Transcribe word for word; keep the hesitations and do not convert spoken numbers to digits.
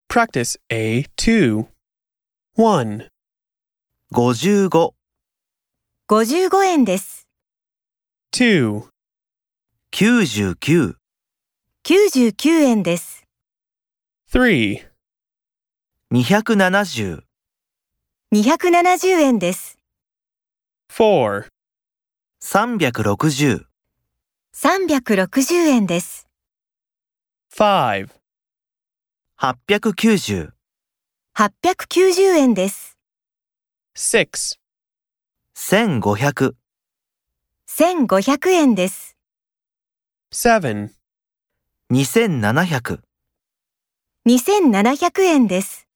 Practice A two. one, ごじゅうご、 ごじゅうごえんです。 two, きゅうじゅうきゅう、 きゅうじゅうきゅうえんです。 three, にひゃくななじゅう、 にひゃくななじゅうえんです。 four, さんびゃくろくじゅう、 さんびゃくろくじゅうえんです。 five, はっぴゃくきゅうじゅう、 はっぴゃくきゅうじゅうえんです。 six, せんごひゃく、 せんごひゃくえんです。 seven, にせんななひゃく、 にせんななひゃくえんです。